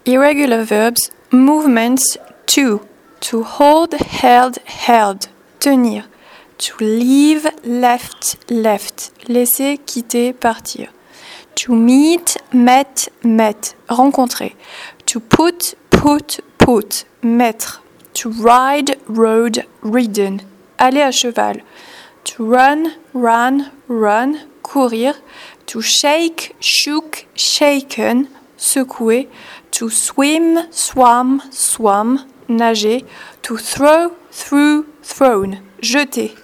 Irregular verbs, movements, to hold, held, held, tenir. To leave, left, left, laisser, quitter, partir. To meet, met, met, rencontrer. To put, put, put, mettre. To ride, rode, ridden, aller à cheval. To run, ran, run, courir. To shake, shook, shaken, secouer. To swim, swam, swam, nager. To throw, threw, thrown, jeter.